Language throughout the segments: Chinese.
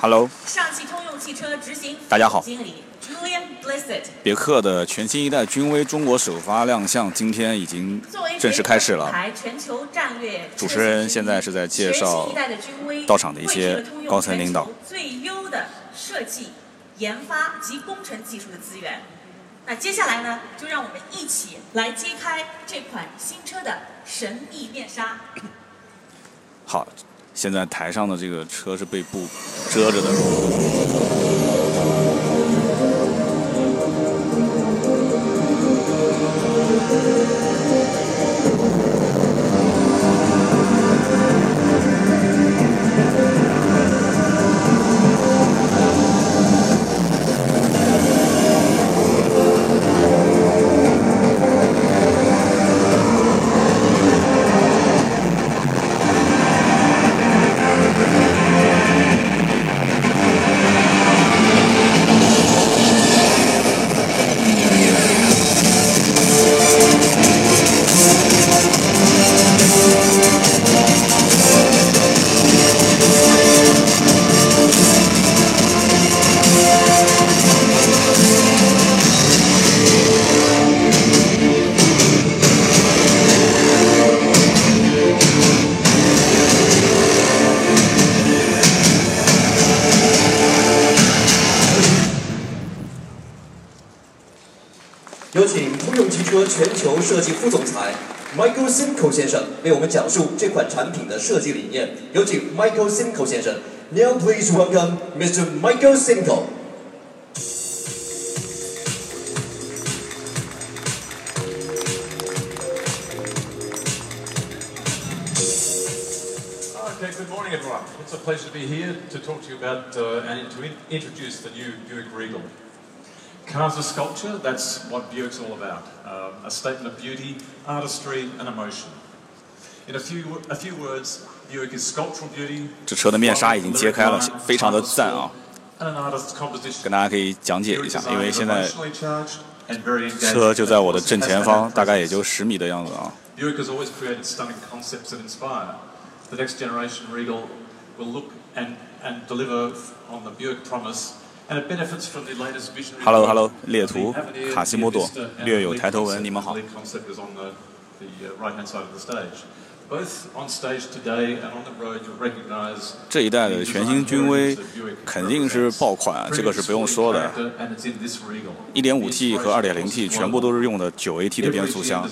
Hello， 上汽通用汽车执行大家好。 经理 Julian Blissett。 别克的全新一代君威中国首发亮相，今天已经正式开始了。 全球战略主持人现在是在介绍到场的一些高层领导。 最优的设计、研发及工程技术的资源。那接下来呢，就让我们一起来揭开这款新车的神秘面纱。 好，现在台上的这个车是被布遮着的。 有请通用汽车全球设计副总裁 Michael Simcoe 先生为我们讲述这款产品的设计理念。有请 Michael Simcoe 先生。Now please welcome Mr. Michael Simcoe. Okay, good morning, everyone. It's a pleasure to be here to talk to you about and to introduce the new Buick Regal. Cars are sculpture, that's what Buick's all about. A statement of beauty, artistry and emotion. In a few words, Buick is sculptural beauty. 这车的面纱已经揭开了，非常的赞啊！跟大家可以讲解一下，因为现在车就在我的正前方，大概也就10米的样子啊。 Buick has always created stunning concepts that inspire. The next generation Regal will look and deliver on the Buick promise.Hello， 列图，卡西莫多，略有抬头纹，你们好。这一代的全新君威肯定是爆款，这个是不用说的。1.5T 和 2.0T 全部都是用的9AT 的变速箱，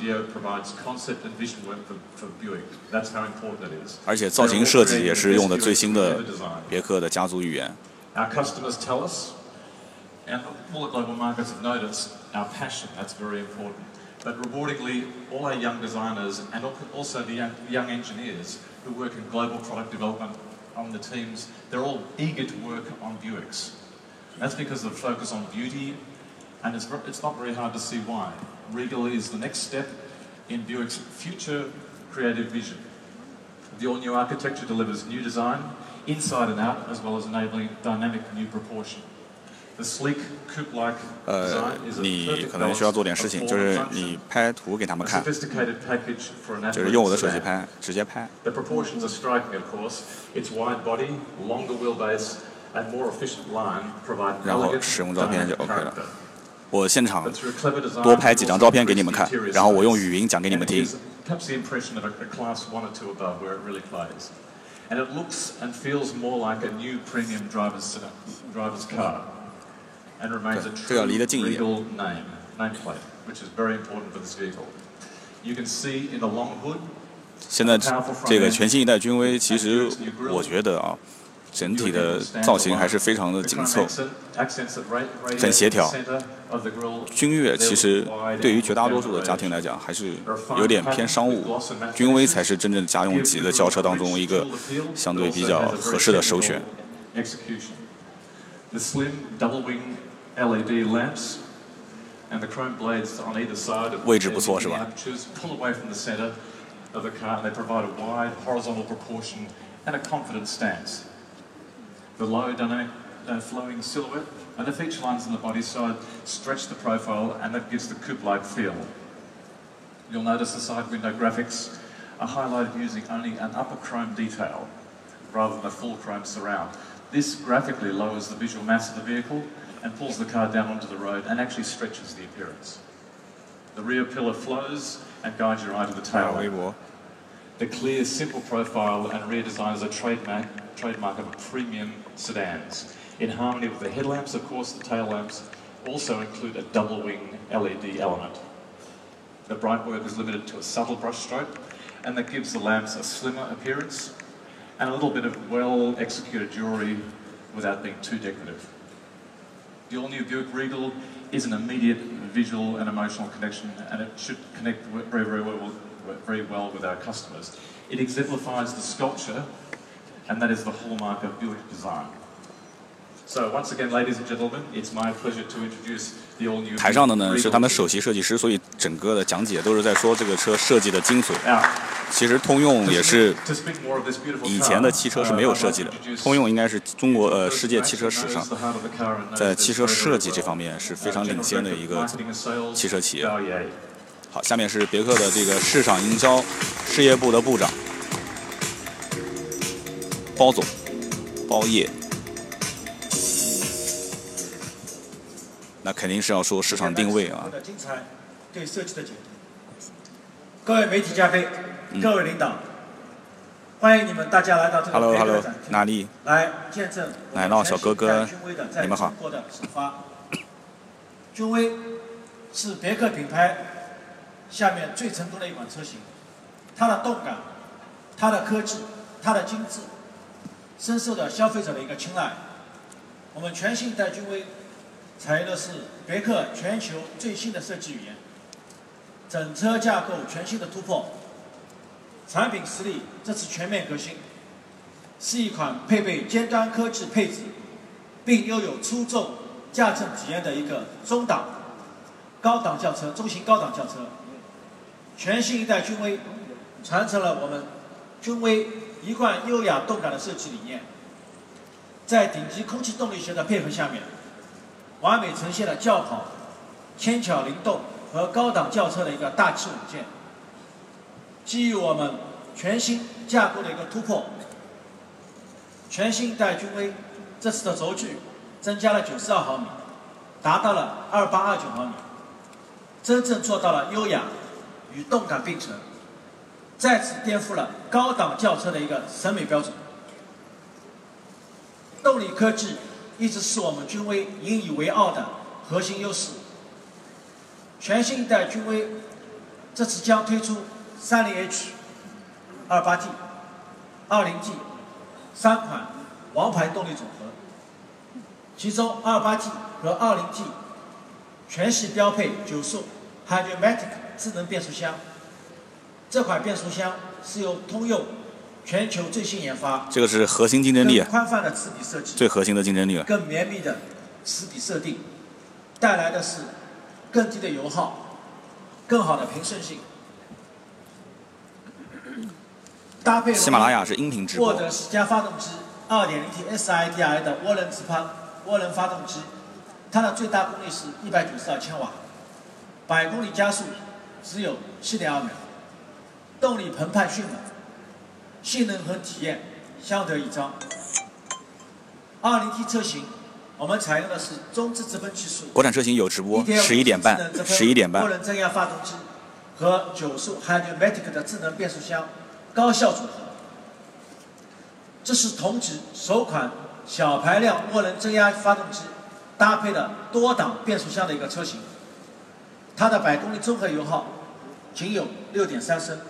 而且造型设计也是用的最新的别克的家族语言。 Our customers tell us, and all the global markets have noticed, our passion, that's very important. But rewardingly, all our young designers and also the young engineers who work in global product development on the teams, they're all eager to work on Buicks. That's because of the focus on beauty, and it's not very hard to see why. Regal is the next step in Buick's future creative vision. The all-new architecture delivers new design, inside and out, as well as enabling dynamic new proportion. The sleek coupe-like design is a 你可能需要做点事情，就是你拍图给他们看，就是用我的手机拍，直接拍。 The proportions are striking, of course. Its wide body, longer wheelbase, and more efficient line provide 然后使用照片就 OK 了。我现场多拍几张照片给你们看，然后我用语音讲给你们听。 Perhaps the impression of a class 1 or 2 above, where it really plays. And it looks and feels more like a new premium driver's car, and remains a true Regal nameplate, which is very important for this vehicle. You can see in the long hood. 现在这个全新一代君威，其实我觉得啊，整体的造型还是非常的紧凑，很协调。君越其实对于绝大多数的家庭来讲，还是有点偏商务，君威才是真正家用级的轿车当中一个相对比较合适的首选。位置不错，是吧 ？The low dynamic flowing silhouette and the feature lines on the body side stretch the profile, and that gives the coupe-like feel. You'll notice the side window graphics are highlighted using only an upper chrome detail rather than a full chrome surround. This graphically lowers the visual mass of the vehicle and pulls the car down onto the road and actually stretches the appearance. The rear pillar flows and guides your eye to the tail lamp. The clear, simple profile and rear design is a trademark of premium sedans. In harmony with the headlamps, of course, the tail lamps also include a double wing LED element. The bright work is limited to a subtle brush stroke, and that gives the lamps a slimmer appearance and a little bit of well-executed jewellery without being too decorative. The all-new Buick Regal is an immediate visual and emotional connection, and it should connect very well with our customers. It exemplifies the sculpture, and that is the hallmark of Buick design. So once again, ladies and gentlemen, it's my pleasure to introduce the all-new. 台上的呢是他们首席设计师，所以整个的讲解都是在说这个车设计的精髓。其实通用也是以前的汽车是没有设计的，通用应该是中国世界汽车史上在汽车设计这方面是非常领先的一个汽车企业。好，下面是别克的这个市场营销事业部的部长包总包业。 那肯定是要说市场定位啊。 的精彩对设计的解读。各位媒体嘉宾，各位领导，欢迎你们大家来到这个别克展厅， 哪里？ 来见证奶酪小哥哥，你们好。 君威是别克品牌下面最成功的一款车型，它的动感、它的科技、它的精致，深受到消费者的一个青睐。我们全新一代君威。 采用的是别克全球最新的设计语言，整车架构全新的突破，产品实力这次全面革新，是一款配备尖端科技配置，并拥有出众驾乘体验的一个中档高档轿车、中型高档轿车。全新一代君威传承了我们君威一贯优雅动感的设计理念，在顶级空气动力学的配合下面。 完美呈现了轿跑、轻巧灵动和高档轿车的一个大气稳健。基于我们全新架构的一个突破，全新一代君威这次的轴距增加了92毫米，达到了2829毫米，真正做到了优雅与动感并存，再次颠覆了高档轿车的一个审美标准。动力科技。 一直是我们君威引以为傲的核心优势。全新一代君威这次将推出 30H、28T、20T 3款王牌动力组合，其中 28T 和 20T 全系标配9速 Hydra-Matic 智能变速箱。这款变速箱是由通用 全球最新研发， 这个是核心竞争力， 宽泛的齿比设计， 最核心的竞争力了。 更绵密的齿比设定，带来的是更低的油耗，更好的平顺性。搭配喜马拉雅是音频直播。 获得10加发动机 2.0T SIDI 的涡轮发动机，它的最大功率是192千瓦，100公里加速只有7.2秒，动力澎湃迅猛。 性能和体验相得益彰。20T 车型，我们采用的是中置直喷技术。 国产车型有直播，11点半，11点半。 涡轮增压发动机和9速 Hydra-Matic 的智能变速箱高效组合。这是同级首款小排量涡轮增压发动机搭配了多档变速箱的一个车型。它的100公里综合油耗仅有6.3升。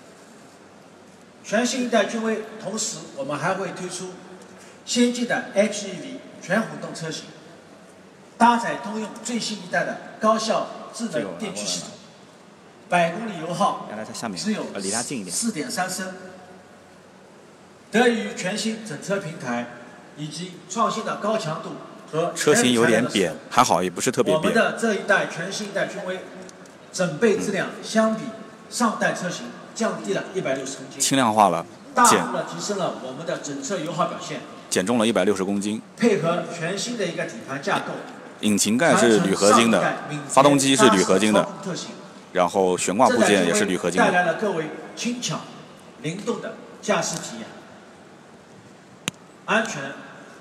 全新一代君威，同时我们还会推出先进的 HEV 全混动车型，搭载通用最新一代的高效智能电驱系统，100公里油耗只有4.3升。得益于全新整车平台以及创新的高强度和车型有点扁，还好也不是特别扁。 我们的这一代全新一代君威，整备质量相比上代车型。 降低了160公斤， 轻量化了， 大幅的提升了我们的整车油耗表现， 减重了160公斤。 配合全新的一个底盘架构， 引擎盖是铝合金的，发动机是铝合金的，然后悬挂部件也是铝合金的， 带来了各位轻巧、灵动的驾驶体验，安全、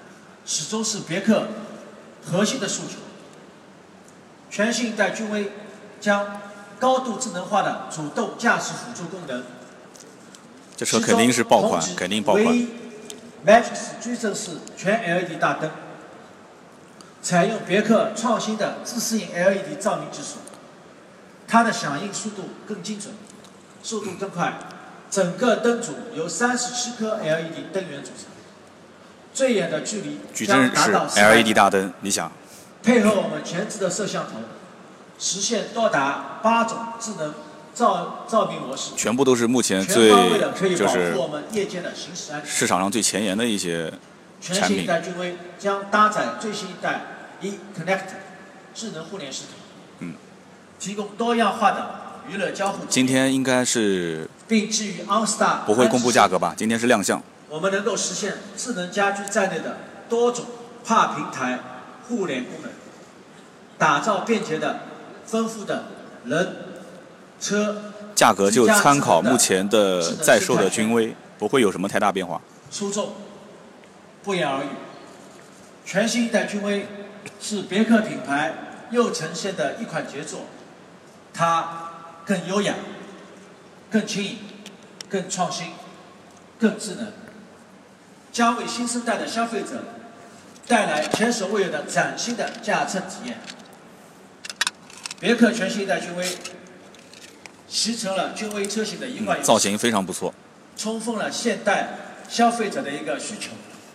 始终是别克核心的诉求。全新一代君威将高度智能化的主动驾驶辅助功能， 这车肯定是爆款，肯定爆款。 Matrix 矩阵式全 LED 大灯，采用别克创新的自适应 LED 照明技术，它的响应速度更精准，速度更快。整个灯组由37颗 LED 灯源组成，最远的距离将达到矩阵式 LED 大灯，你想？ 配合我们前置的摄像头，实现多达8种智能照明模式， 全部都是目前最就是我们夜间的行驶安全。 市场上最前沿的一些产品。 全新一代君威将搭载最新一代 eConnect 智能互联系统，提供多样化的娱乐交互。 今天应该是并基于 OnStar 不会公布价格吧？今天是亮相。 我们能够实现智能家居在内的多种跨平台互联功能，打造便捷的、丰富的人、车。 价格就参考目前的在售的君威，不会有什么太大变化。 出众，不言而喻。全新一代君威是别克品牌又呈现的一款杰作，它更优雅、更轻盈、更创新、更智能，将为新生代的消费者带来前所未有的崭新的驾乘体验。别克全新一代君威集成了君威车型的一贯造型非常不错， 充分了现代消费者的一个需求，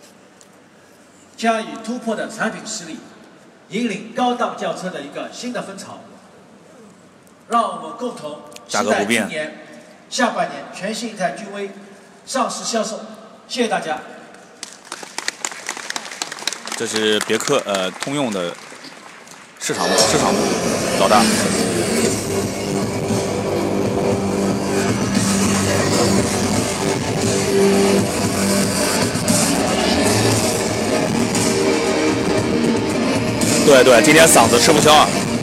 将以突破的产品实力引领高档轿车的一个新的风潮。让我们共同期待今年下半年全新一代君威上市销售。谢谢大家。 这是别克通用的市场部老大。对，今天嗓子吃不消啊。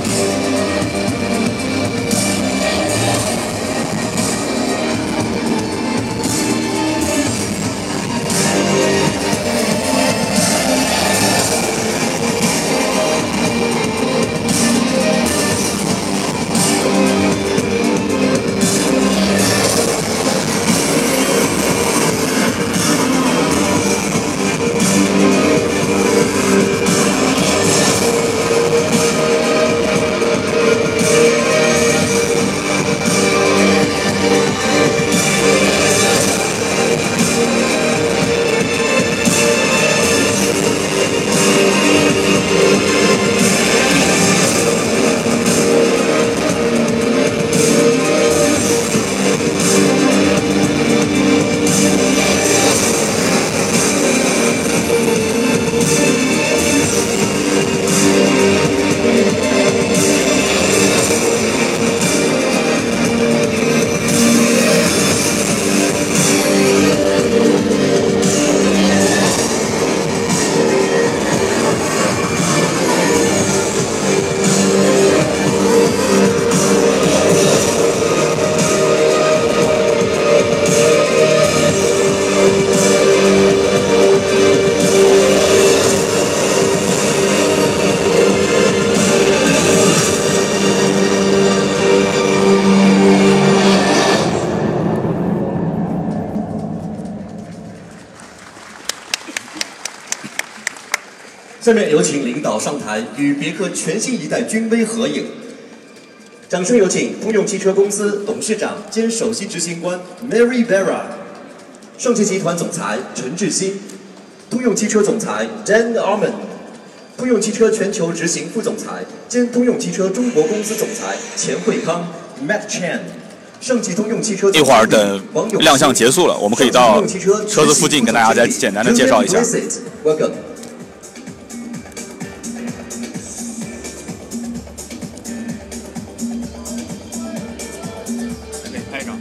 下面有请领导上台与别克全新一代君威合影。掌声有请通用汽车公司董事长兼首席执行官 Mary Barra， 上汽集团总裁陈志新，通用汽车总裁 Dan Arman， 通用汽车全球执行副总裁兼通用汽车中国公司总裁钱惠康 Matt Chan。上汽通用汽车一会儿等亮相结束了，我们可以到车子附近跟大家再简单的介绍一下。 Welcome。 拍一张，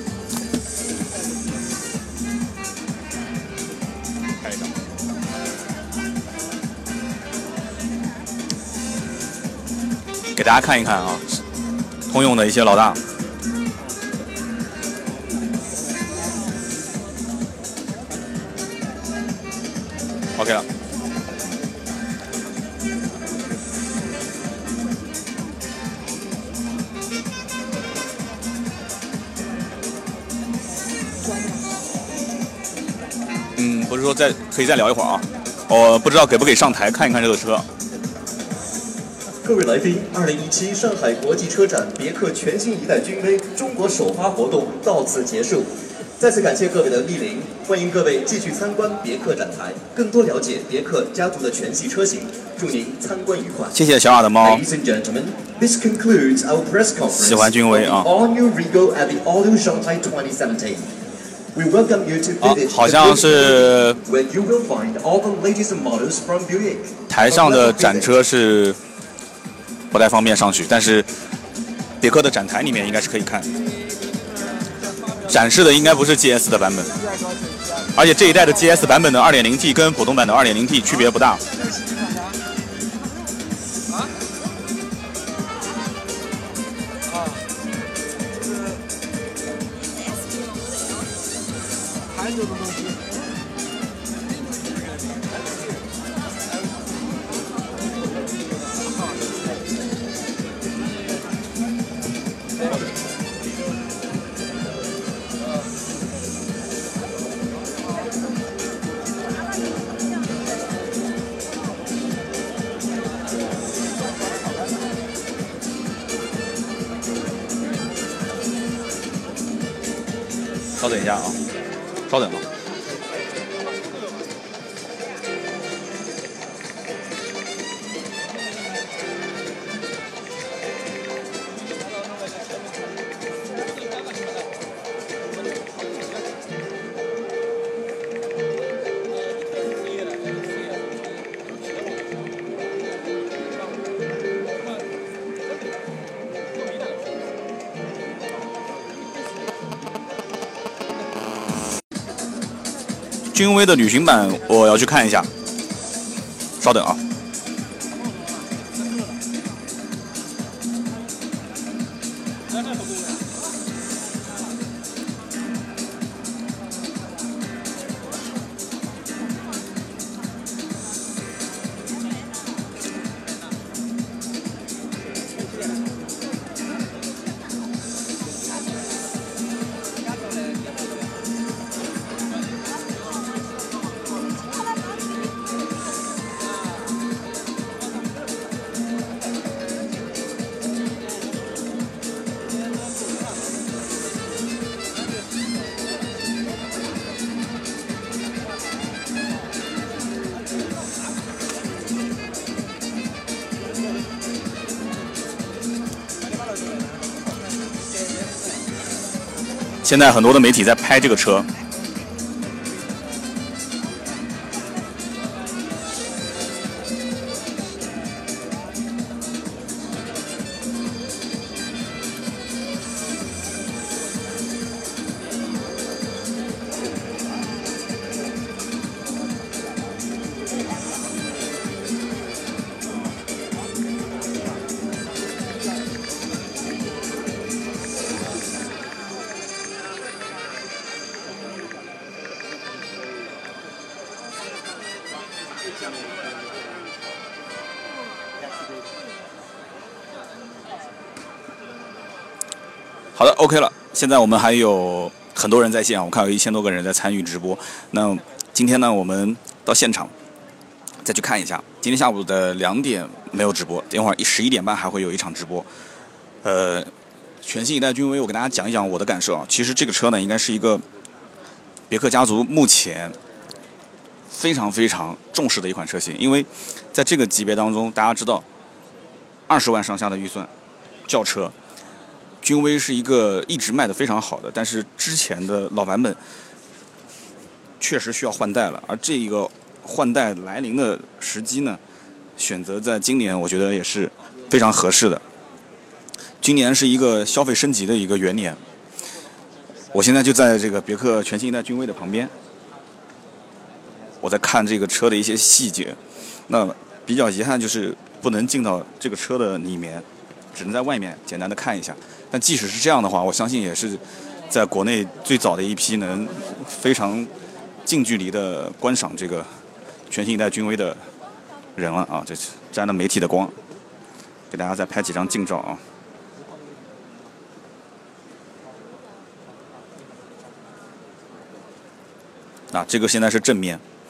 拍一张。给大家看一看啊，通用的一些老大。OK 了。 是说可以再聊一会儿啊。不知道给不给上台看一看这个车。 各位来宾，2017上海国际车展别克全新一代君威中国首发活动到此结束。再次感谢各位的莅临，欢迎各位继续参观别克展台，更多了解别克家族的全系车型。祝您参观愉快。 谢谢小雅的猫。 Ladies and gentlemen, this concludes our press conference. 喜欢君威啊。 All new Regal at the Auto Shanghai 2017. We welcome you to visit 好像是 where you will find all the latest models from Buick. 台上的展车是不太方便上去，但是别克的展台里面应该是可以看。展示的应该不是 GS 的版本，而且这一代的 GS 版本的 2.0T 跟普通版的 2.0T 区别不大。稍等一下啊，稍等啊。君威的旅行版我要去看一下，稍等啊。现在很多的媒体在拍这个车。好的 ，OK 了。现在我们还有很多人在线啊，我看有1000多个人在参与直播。那今天呢，我们到现场再去看一下。今天下午的2点没有直播，等会儿11点半还会有一场直播。全新一代君威，我给大家讲一讲我的感受啊。其实这个车呢，应该是一个别克家族目前非常非常重视的一款车型，因为在这个级别当中，大家知道20万上下的预算轿车。君威是一个一直卖的非常好的，但是之前的老版本确实需要换代了，而这一个换代来临的时机呢，选择在今年，我觉得也是非常合适的。今年是一个消费升级的一个元年，我现在就在这个别克全新一代君威的旁边，我在看这个车的一些细节。那比较遗憾就是不能进到这个车的里面，只能在外面简单的看一下。但即使是这样的话，我相信也是在国内最早的一批能非常近距离的观赏这个全新一代君威的人了啊！这沾了媒体的光，给大家再拍几张近照啊！啊，这个现在是正面。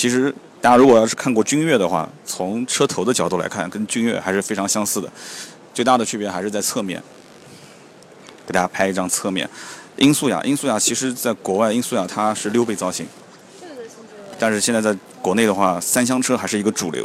其实大家如果要是看过君越的话，从车头的角度来看，跟君越还是非常相似的。最大的区别还是在侧面。给大家拍一张侧面。音速雅其实在国外，音速雅它是6倍造型，但是现在在国内的话，3厢车还是一个主流。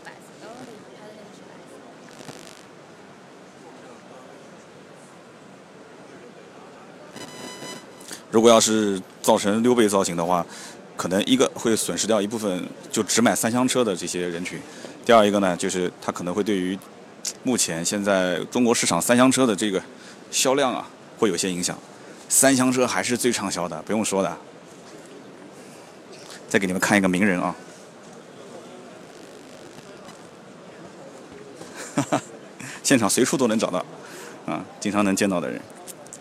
如果要是造成6倍造型的话，可能一个会损失掉一部分就只买3厢车的这些人群，第二一个呢，就是它可能会对于目前现在中国市场3厢车的这个销量啊，会有些影响。3厢车还是最畅销的，不用说的。再给你们看一个名人啊，哈哈，现场随处都能找到，啊，经常能见到的人。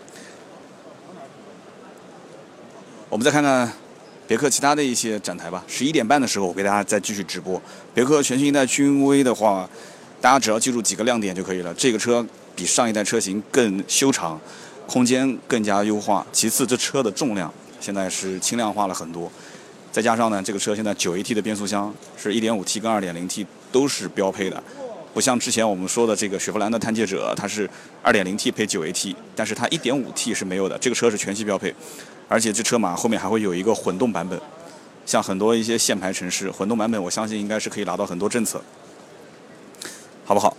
我们再看看别克其他的一些展台吧。11点半的时候，我给大家再继续直播。别克全新一代君威的话，大家只要记住几个亮点就可以了。这个车比上一代车型更修长，空间更加优化。其次，这车的重量现在是轻量化了很多。再加上呢，这个车现在9AT 的变速箱是 1.5T 跟 2.0T 都是标配的，不像之前我们说的这个雪佛兰的探界者，它是 2.0T 配 9AT， 但是它 1.5T 是没有的。这个车是全系标配，而且这车码后面还会有一个混动版本。像很多一些限牌城市，混动版本我相信应该是可以拿到很多政策，好不好？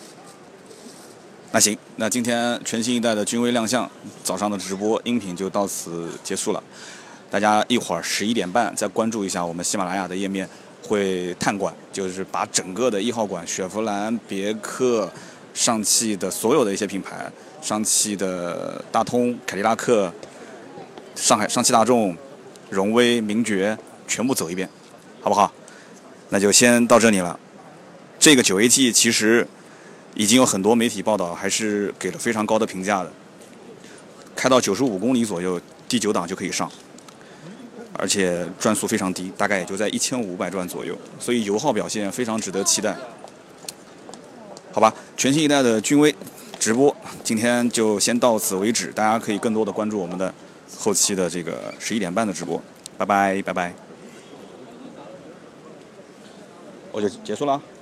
那行，那今天全新一代的君威亮相，早上的直播音频就到此结束了。大家一会儿11点半再关注一下我们喜马拉雅的页面，会探馆，就是把整个的1号馆雪佛兰、别克、上汽的所有的一些品牌，上汽的大通、凯迪拉克、上汽大众、荣威、名爵全部走一遍，好不好？那就先到这里了。这个9AT 其实已经有很多媒体报道，还是给了非常高的评价的。开到95公里左右，第9档就可以上。而且转速非常低，大概也就在1500转左右，所以油耗表现非常值得期待。好吧，全新一代的君威直播今天就先到此为止，大家可以更多的关注我们的后期的这个11点半的直播。拜拜拜拜，我就结束了。